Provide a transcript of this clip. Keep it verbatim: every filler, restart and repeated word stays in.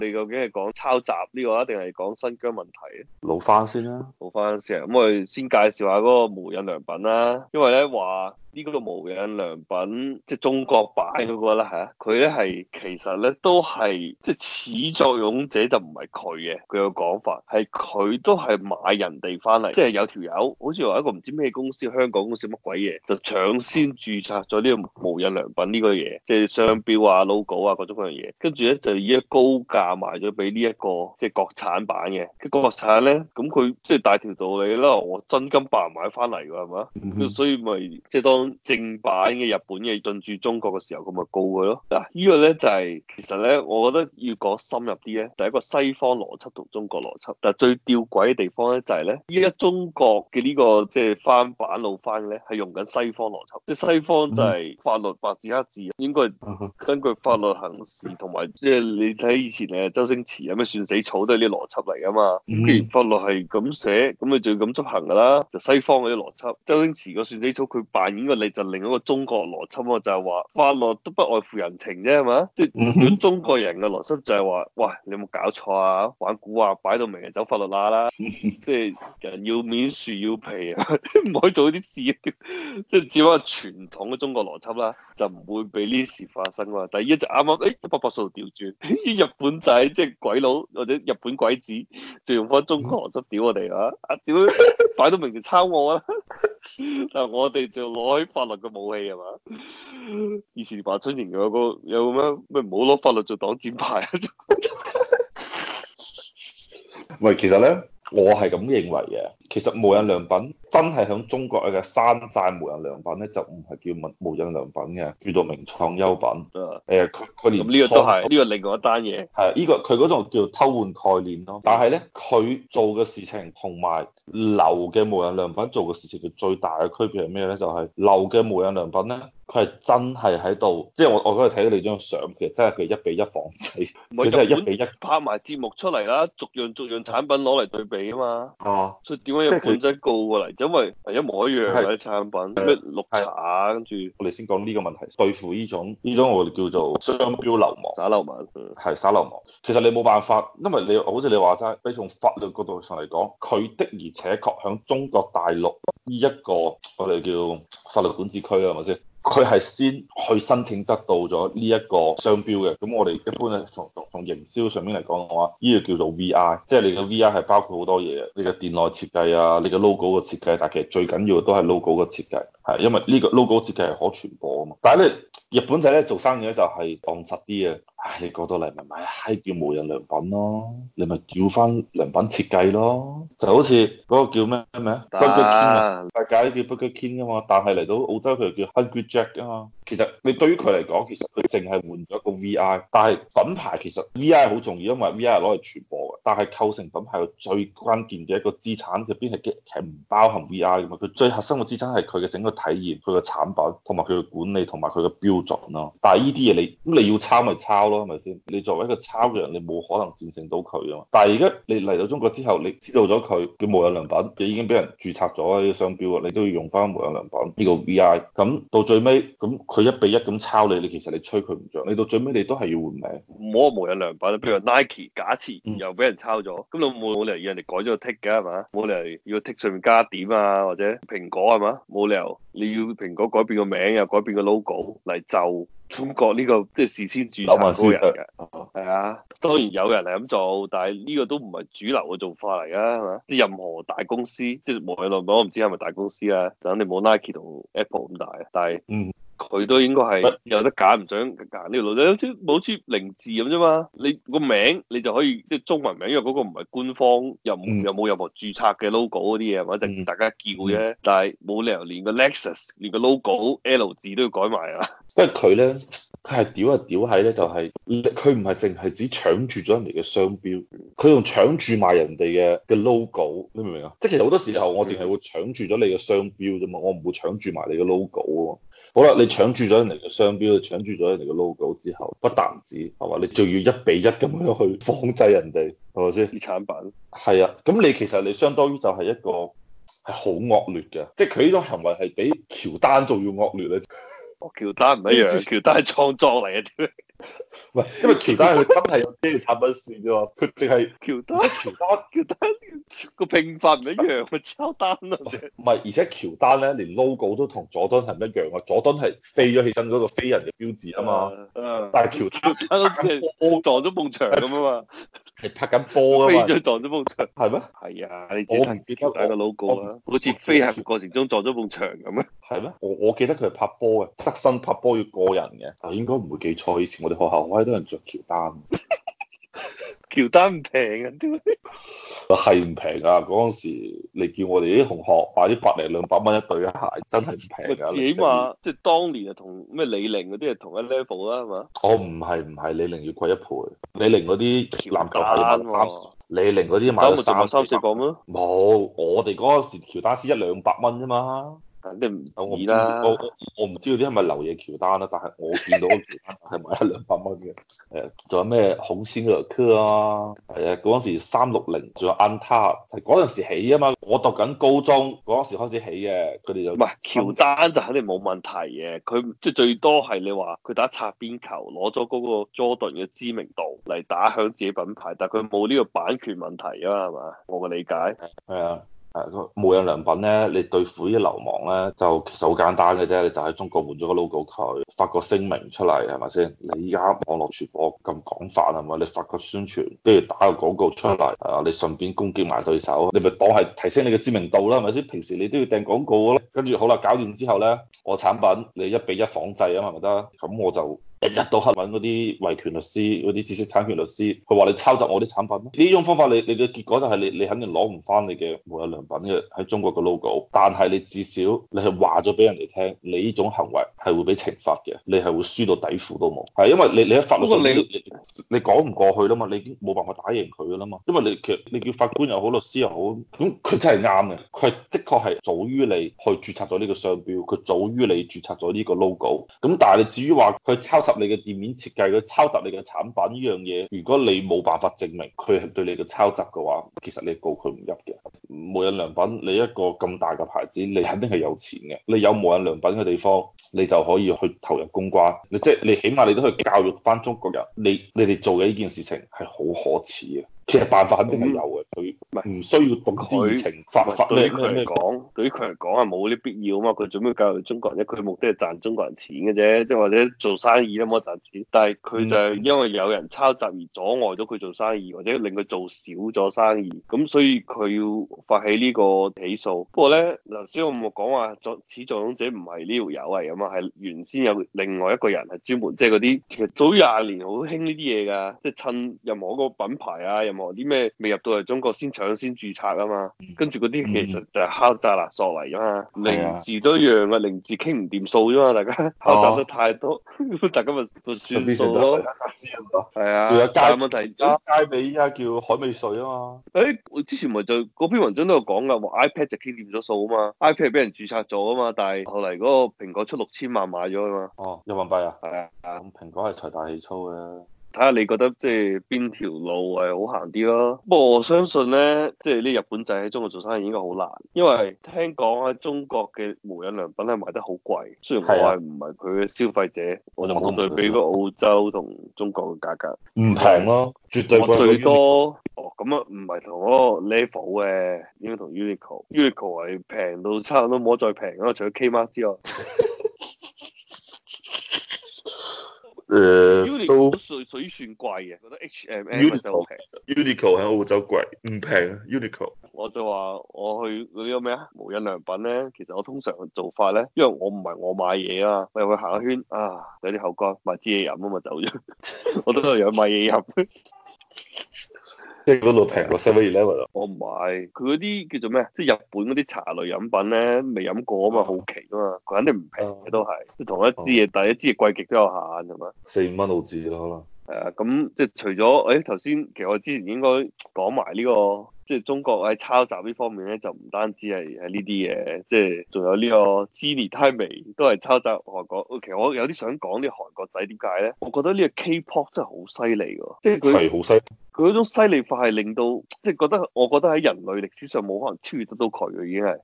你究竟係講抄襲呢個啊，定係講新疆問題啊？ 老翻先啦。 好翻先，咁我哋先介紹下嗰個無印良品啦。因為咧話呢個無印良品即係中國版嗰個啦嚇，佢咧係其實咧都係即係始作俑者就唔係佢嘅，佢有講法係佢都係買人哋翻嚟，即係有條友好似話一個唔知咩公司，香港公司乜鬼嘢，就搶先註冊咗呢個無印良品呢個嘢，即係商標啊、logo 啊各種各樣嘢，跟住咧就以一高價賣咗俾呢一個即係國產版嘅，佢國產咧咁佢即係大條道理啦，我真金白銀買翻嚟㗎係嘛， 嗯哼。 所以咪即係當正版嘅日本嘅進駐中國嘅時候，咁咪告佢咯。嗱，呢個咧就係其實咧，我覺得要講深入啲咧，就係一個西方邏輯同中國邏輯。但係最吊詭嘅地方咧就係咧，依家中國嘅呢個即係翻版老翻嘅咧，係用緊西方邏輯，即係西方就係法律白紙黑字，應該根據法律行事，同埋即係你睇以前誒周星馳有咩算死草都係啲邏輯嚟噶嘛。咁既然法律係咁寫，咁你就要咁執行噶啦。就西方嗰啲邏輯，周星馳個算死草佢扮演個你就另一個中國邏輯啊，就係話法律都不外乎人情啫，係嘛？即係如果中國人嘅邏輯就係話，喂，你有冇搞錯啊？玩蠱惑擺到明係走法律罅啦，即係人要面樹要皮啊，唔可以做呢啲事，即係只不過傳統嘅中國邏輯啦，就唔會俾呢啲事發生啊。但係依家就啱啱誒一百八十度調轉，日本仔即係鬼佬或者日本鬼子，就用翻中國邏輯屌我哋啊！啊屌，擺到明就抄我啊！但係我哋就攞起法律嘅武器係嘛？以前華春瑩有個有咩咩唔好攞法律做擋箭牌啊！ 喂，其實咧，我係咁認為嘅。其實無印良品真係響中國嘅山寨無印良品咧，就唔係叫無無印良品嘅，叫做名創優品。誒、呃，佢佢連咁呢個都係呢個另外一單嘢。 係呢個佢嗰種叫偷換概念咯。但係咧，佢做嘅事情同埋流嘅無印良品做嘅事情嘅最大嘅區別係咩咧？就係、是、流嘅無印良品咧，佢係真係喺度，即係我我嗰日睇到你張相，其實真係佢一比一仿製，佢真係一比一拍埋節目出嚟啦，逐樣逐樣產品攞嚟對比啊嘛。 哦， 所以點解日本仔告過嚟？因為係一模一樣嘅產品，咩綠茶跟住。 我哋先講呢個問題，對付呢種呢種我哋叫做商標流氓、 耍流氓， 係耍流氓。其實你冇辦法，因為你好似你話齋，你從法律角度上嚟講，佢的而且確響中國大陸呢一個我哋叫法律管治區啊，係咪先？佢係先去申請得到咗呢一個商標嘅，咁我哋一般咧從從從營銷上面嚟講嘅話，呢、這個叫做 V I，即係你嘅 V I 係包括好多嘢，你嘅店內設計啊，你嘅 logo 嘅設計，但係其實最緊要嘅都係 logo 嘅設計，係因為呢個 logo 設計係可傳播啊嘛。但係咧，日本仔咧做生意咧就係戇實啲嘅，唉，你過到嚟咪買閪叫無印良品咯，你咪叫翻良品設計咯，就好似嗰個叫咩咩啊 Burger King 啊，大家都叫 Burger King 噶嘛，但係嚟到澳洲佢就叫 Hungry Jack 啊嘛。其實你對於佢嚟講，其實佢淨係換咗個 V I，但係品牌其實 V I 好重要，因為 V I 係攞嚟傳播嘅。但係構成品牌嘅最關鍵嘅一個資產入邊係嘅係唔包含 V I 嘅嘛。佢最核心嘅資產係佢嘅整個體驗、佢嘅產品同埋佢嘅管理同埋佢嘅標準咯。但係呢啲嘢你咁你要抄咪抄咯，係咪先？你作為一個抄嘅人，你冇可能戰勝到佢啊嘛。但係而家你嚟到中國之後，你知道咗佢叫無印良品，佢已經俾人註冊咗呢個商標啊，你都要用翻無印良品呢個 V I。咁到最尾咁佢一比一咁抄你，你其實你吹佢唔着，你到最尾你都係要換名。 唔好話無印良品，譬如話 Nike，假設又俾人抄咗，咁你冇冇理由要人哋改咗個 tick 嘅係嘛？冇理由要 tick 上面加點啊，或者蘋果係嘛？冇理由你要蘋果改變個名又改變個 logo 嚟就中國呢個即係事先註冊嗰個人嘅。係啊，當然有人係咁做，但係呢個都唔係主流嘅做法嚟噶，係嘛？即係任何大公司，即係無印良品，我唔知係咪大公司啊，就肯定冇 Nike 同 Apple 咁大啊，但係嗯。 佢都應該係有得揀，唔想揀呢條路，好似好似零字咁啫嘛。你個名你就可以即係中文名，因為嗰個唔係官方，又又冇任何註冊嘅 logo 嗰啲嘢，或者大家叫啫。嗯、但係冇理由連個 Lexus 連個 logo L 字都要改埋啊！ 因為佢咧，佢係屌啊屌喺咧，就係佢唔係淨係只搶住咗人哋嘅商標，佢仲搶住賣人哋嘅嘅 logo，你明唔明啊？即係其實好多時候我淨係會搶住咗你嘅商標啫嘛，我唔會搶住埋你嘅 logo 啊嘛。好啦，你搶住咗人哋嘅商標，搶住咗人哋嘅 logo 之後，不但止係嘛，你仲要一比一咁樣去仿製人哋，係咪先？ 啲產品係啊，咁你其實你相當於就係一個係好惡劣嘅，即係佢呢種行為係比喬丹仲要惡劣咧。 哦，喬丹唔一樣，喬丹係創作嚟嘅。 唔係，因為喬丹佢真係有啲產品線啫嘛，佢淨係喬丹喬丹喬丹個拼法唔一樣，咪抄單啊！ 唔係，而且喬丹咧連 logo 都同佐敦係唔一樣啊！佐敦係飛咗起身嗰個飛人嘅標誌啊嘛， 誒， 但係喬丹喬丹好似係撞咗埲牆咁啊嘛， 係拍緊波啊嘛， 飛咗撞咗埲牆。 係咩？ 係啊，你自己睇喬丹個 logo 啊，好似飛行過程中撞咗埲牆咁啊。 係咩？我我記得佢係拍波嘅，側身拍波要過人嘅，啊應該唔會記錯。以前我哋學校好多人着喬丹。 喬丹唔平啊，點解？ 係唔平啊！嗰陣時你叫我哋啲同學買啲百零兩百蚊一對嘅鞋，真係唔平啊！ 自己嘛，即係當年啊，同咩李寧嗰啲係同一 level 啦，係嘛？ 我唔係唔係，李寧要貴一倍。李寧嗰啲籃球鞋要賣三， 喬李寧嗰啲賣丹咪就三賣三四百蚊咯， 冇，我哋嗰陣時喬丹先一兩百蚊啫嘛。 肯定唔我唔知止啦。 我我我唔知道啲係咪流嘢喬丹啦，但係我見到個喬丹係賣一兩百蚊嘅。誒，仲有咩孔仙諾克啊？係啊，嗰陣時三六零，仲有安踏，係嗰陣時起啊嘛。我讀緊高中嗰陣時開始起嘅，佢哋就唔係喬丹就肯定冇問題嘅，佢即係最多係你話佢打擦邊球，攞咗嗰個 Jordan 嘅知名度嚟打響自己品牌，但係佢冇呢個版權問題啊嘛，係嘛？我嘅理解係啊。誒個無印良品咧，你對付呢啲流氓咧，就其實好簡單嘅啫，你就喺中國換咗個 logo 佢，發個聲明出嚟係咪先？你依家網絡傳播咁廣泛係咪？你發個宣傳，跟住打個廣告出嚟，啊，你順便攻擊埋對手，你咪當係提升你嘅知名度啦，係咪先？平時你都要訂廣告咯，跟住好啦，搞掂之後咧，我產品你一比一仿製啊嘛，咪得？咁我就。日日都黑揾嗰啲維權律師、嗰啲知識產權律師，佢話你抄襲我啲產品，呢種方法你你嘅結果就係你你肯定攞唔翻你嘅無印良品嘅喺中國嘅 logo，但係你至少你係話咗俾人哋聽，你呢種行為係會俾懲罰嘅，你係會輸到底褲都冇，係因為你你喺法律上你你你講唔過去啦嘛，你已經冇辦法打贏佢噶啦嘛，因為你其實你叫法官又好，律師又好，咁佢真係啱嘅，佢的確係早於你去註冊咗呢個商標，佢早於你註冊咗呢個 logo，咁但係你至於話佢抄襲你嘅店面設計，佢抄襲你嘅產品呢樣嘢，如果你冇辦法證明佢係對你嘅抄襲嘅話，其實你告佢唔入嘅。無印良品你一個咁大嘅牌子，你肯定係有錢嘅，你有無印良品嘅地方，你就可以去投入公關，你即係你起碼你都去教育翻中國人，你你哋做嘅呢件事情係好可恥嘅。其實辦法肯定係有嘅，佢唔需要動之以情，發發對於佢嚟講，對於佢嚟講係冇呢必要啊嘛。佢做咩教育中國人啫？佢目的係賺中國人錢嘅啫，即係或者做生意都冇賺錢。但係佢就係因為有人抄襲而阻礙咗佢做生意，或者令佢做少咗生意，咁所以佢要發起呢個起訴。不過咧，頭先我冇講話作始作俑者唔係呢條友嚟㗎嘛，係原先有另外一個人係專門即係嗰啲，其實早廿年好興呢啲嘢㗎，即係趁任何一個品牌啊，任何啲咩未入到嚟中國先搶先註冊啊嘛，跟住嗰啲其實就係敲詐勒索嚟㗎嘛，零字都一樣嘅，零字傾唔掂數啫嘛，大家敲詐得太多，大家咪咪算數咯。係啊， 仲有街問題， 街尾依家叫海味稅啊嘛。 誒，我之前咪就嗰篇文章都有講㗎，話 iPad 就傾掂咗數啊嘛，iPad 係俾人註冊咗啊嘛，但係後嚟嗰個蘋果出六千萬買咗啊嘛。 哦，人民幣啊？ 係啊， 咁蘋果係財大氣粗嘅。 睇下你覺得即係邊條路係好行啲咯？不過我相信咧，即係呢日本仔喺中國做生意應該好難，因為聽講喺中國嘅無印良品係賣得好貴。雖然我係唔係佢嘅消費者，我就冇對比過澳洲同中國嘅價格， 唔平咯，絕對貴過 Uniqlo。 最多哦，咁啊唔係同嗰個 level 嘅，應該同 Uniqlo。Uniqlo 係平到差唔多冇得再平咯，除咗 Kmart 之外。 誒 Uniqlo 都屬屬於算貴嘅，覺得 H and M 就好平。 Uniqlo 喺澳洲貴，唔平啊 Uniqlo。 我就話我去嗰啲咩啊無印良品咧，其實我通常嘅做法咧，因為我唔係我買嘢啊，我入去行一圈啊，有啲口乾，買支嘢飲啊嘛走咗，我都係有買嘢飲。 即係嗰度平過 seven eleven 啊！ 我唔買，佢嗰啲叫做咩？即係日本嗰啲茶類飲品咧，未飲過啊嘛，好奇啊嘛，佢肯定唔平嘅都係，即係同一支嘢，但係一支嘢貴極都有限係嘛？ 四五蚊澳紙咯，可能。 係啊，咁即係除咗誒頭先，其實我之前應該講埋呢個。即係中國喺抄襲呢方面咧，就唔單止係係呢啲嘢，即係仲有呢個 Jennie Tai 都係抄襲韓國。其實我有啲想講啲韓國仔點解咧？我覺得呢個 K-pop 真係好犀利㗎，即係佢係好犀利。 佢嗰種犀利法係令到即係覺得，我覺得喺人類歷史上冇可能超越得到佢嘅，已經係